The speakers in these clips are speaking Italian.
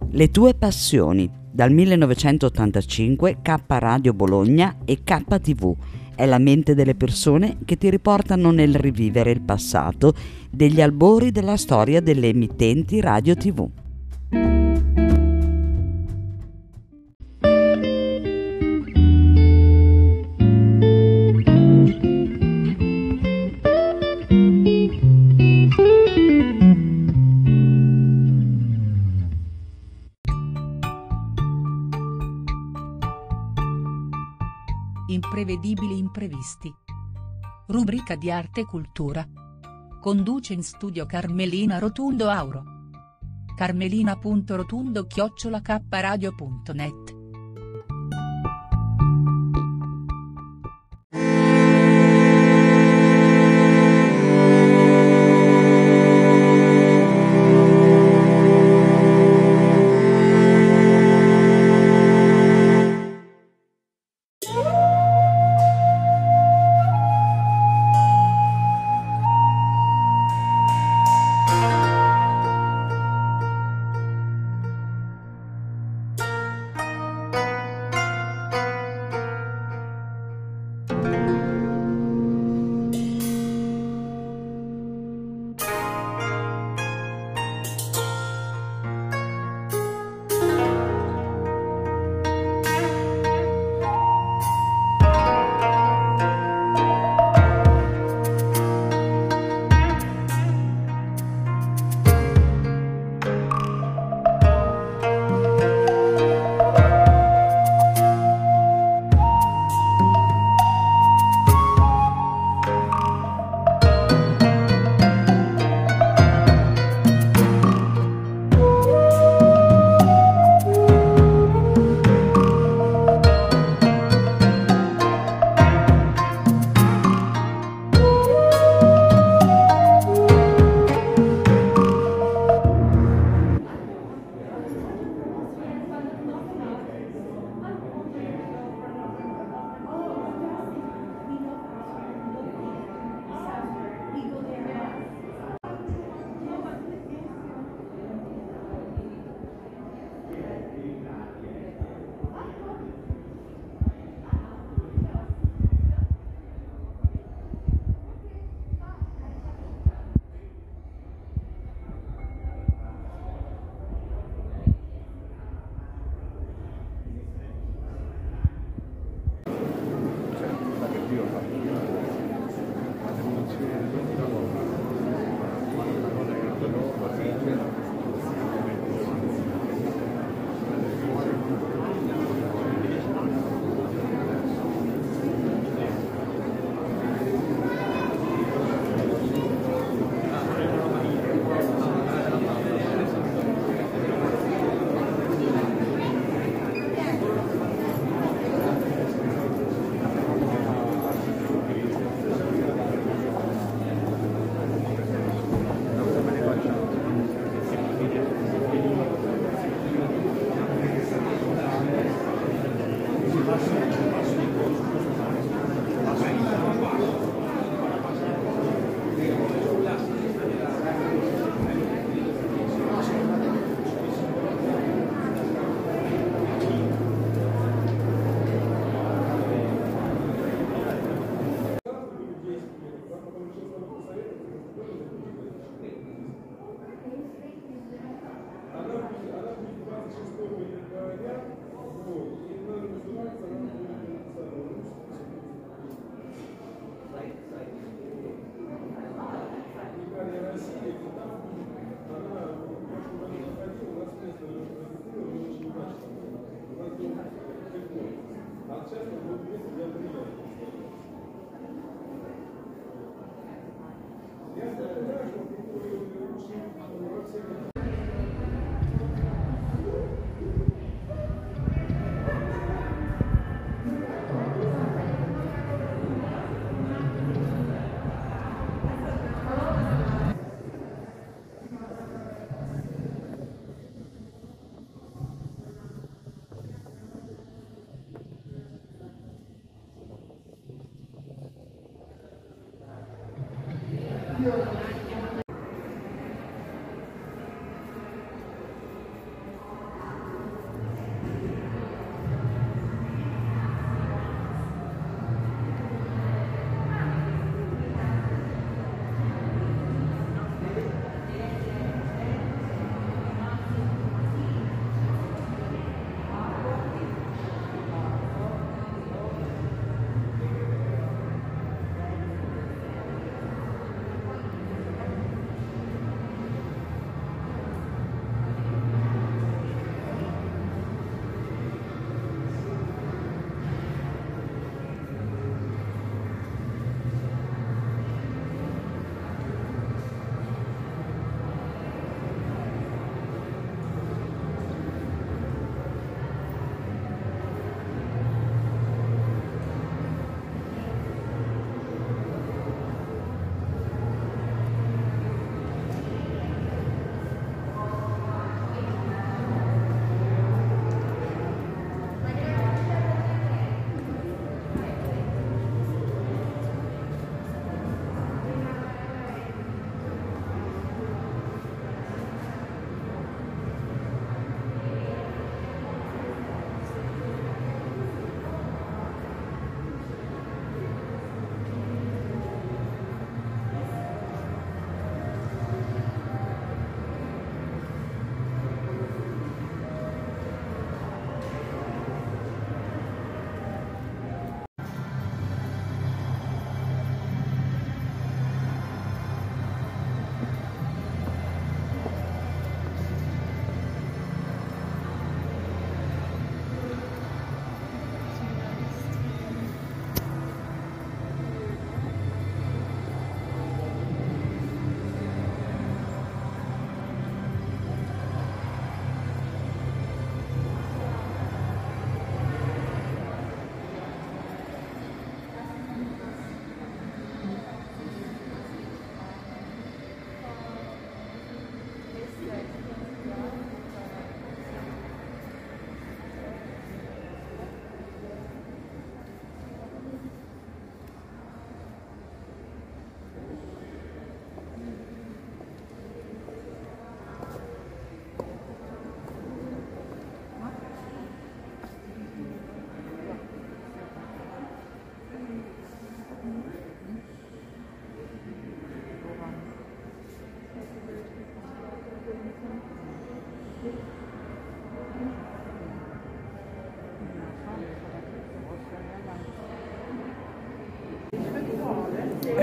Le tue passioni, dal 1985 K Radio Bologna e KTV. È la mente delle persone che ti riportano nel rivivere il passato degli albori della storia delle emittenti radio TV. Imprevedibili imprevisti. Rubrica di arte e cultura. Conduce in studio Carmelina Rotundo Auro. carmelina.rotundo@kradio.net.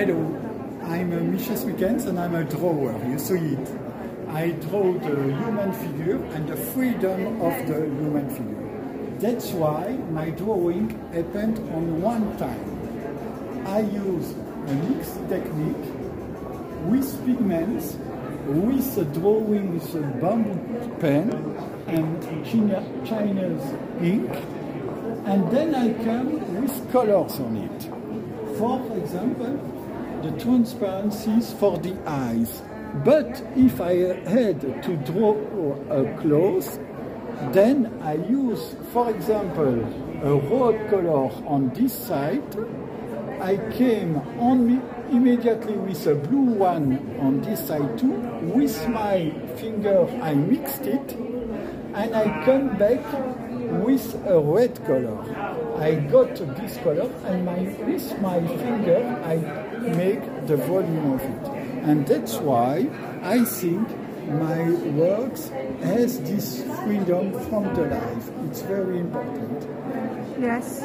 Hello, I'm Michel Smickens and I'm a drawer, you see it. I draw the human figure and the freedom of the human figure. That's why my drawing happened on one time. I use a mixed technique with pigments, with a drawing with a bamboo pen and Chinese ink, and then I come with colors on it. For example, the transparencies for the eyes. But if I had to draw a clothes, then I use, for example, a red color on this side. I came on me immediately with a blue one on this side too. With my finger I mixed it, and I come back with a red color. I got this color, and with my finger I make the volume of it. And that's why I think my works has this freedom from the life. It's very important. Yes.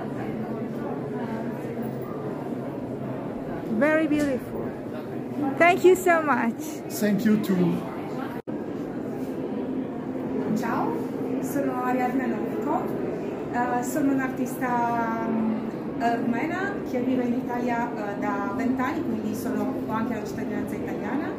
Very beautiful. Thank you so much. Thank you too. Ciao, sono Ariadna Novko, sono un'artista rumena che vive in Italia da 20 anni, quindi ho anche la cittadinanza italiana.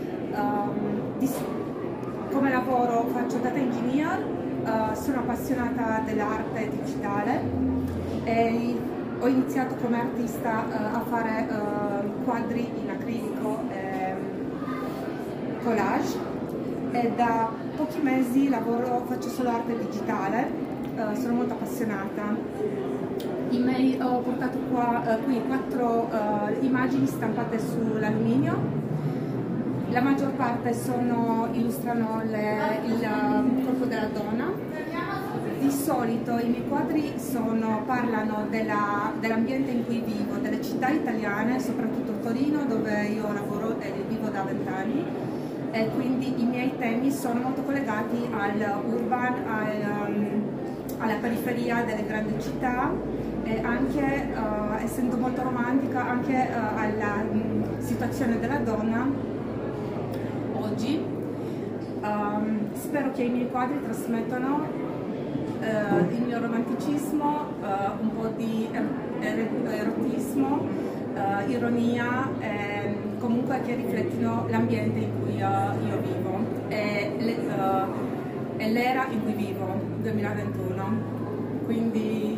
Come lavoro faccio data engineer, sono appassionata dell'arte digitale e ho iniziato come artista a fare quadri in acrilico e collage, e da pochi mesi faccio solo arte digitale, sono molto appassionata. Ho portato qui 4 immagini stampate sull'alluminio. La maggior parte illustrano il corpo della donna. Di solito i miei quadri parlano dell'ambiente in cui vivo, delle città italiane, soprattutto Torino, dove io lavoro e vivo da 20 anni, e quindi i miei temi sono molto collegati all'urban, alla periferia delle grandi città, e anche, essendo molto romantica, anche alla situazione della donna oggi. Spero che i miei quadri trasmettano il mio romanticismo, un po' di erotismo, ironia, comunque che riflettino l'ambiente in cui io vivo e l'era in cui vivo, 2021. Quindi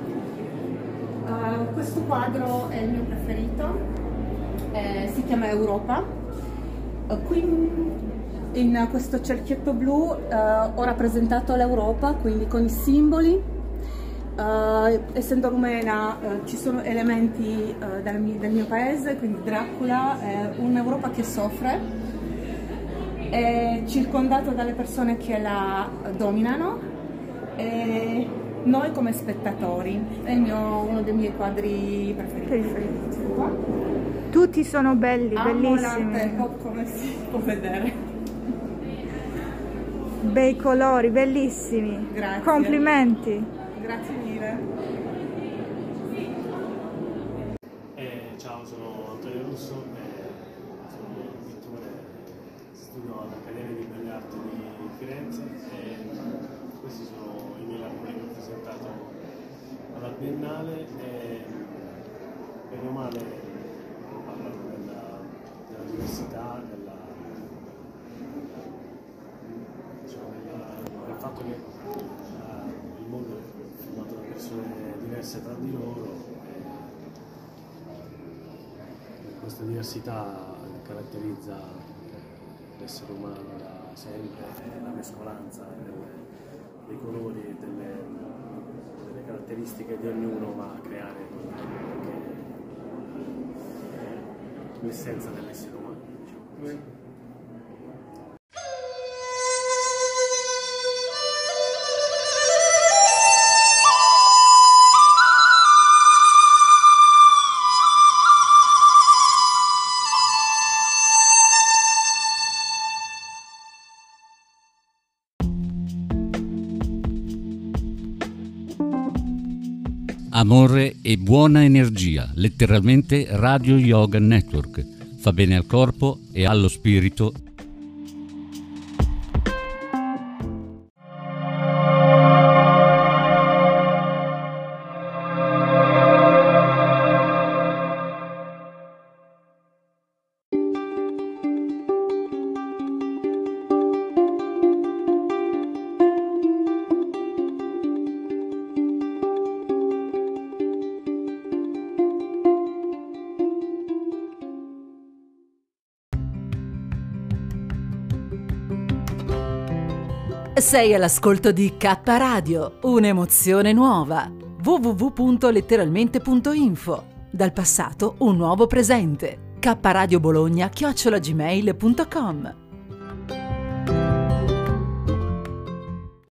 questo quadro è il mio preferito, si chiama Europa. Qui in questo cerchietto blu ho rappresentato l'Europa, quindi con i simboli. Essendo rumena ci sono elementi del mio paese, quindi Dracula, un'Europa che soffre, è circondato dalle persone che la dominano, e noi come spettatori. È uno dei miei quadri preferiti. Tutti sono belli, Amo bellissimi. l'arte, come si può vedere. Bei colori, bellissimi. Grazie. Complimenti. Grazie mille. Ciao, sono Antonio Russo, sono pittore, studio all'Accademia di Belle Arti di Firenze, e questi sono i miei lavori che ho presentato alla Biennale, e bene o male parlano della diversità, del fatto che il mondo è formato da persone diverse tra di loro, e questa diversità caratterizza l'essere umano da sempre, la mescolanza dei colori, delle caratteristiche di ognuno va a creare anche l'essenza dell'essere umano, diciamo. Amore e buona energia, letteralmente Radio Yoga Network. Fa bene al corpo e allo spirito. Sei all'ascolto di K Radio, un'emozione nuova. www.letteralmente.info. Dal passato un nuovo presente. kradiobologna@gmail.com.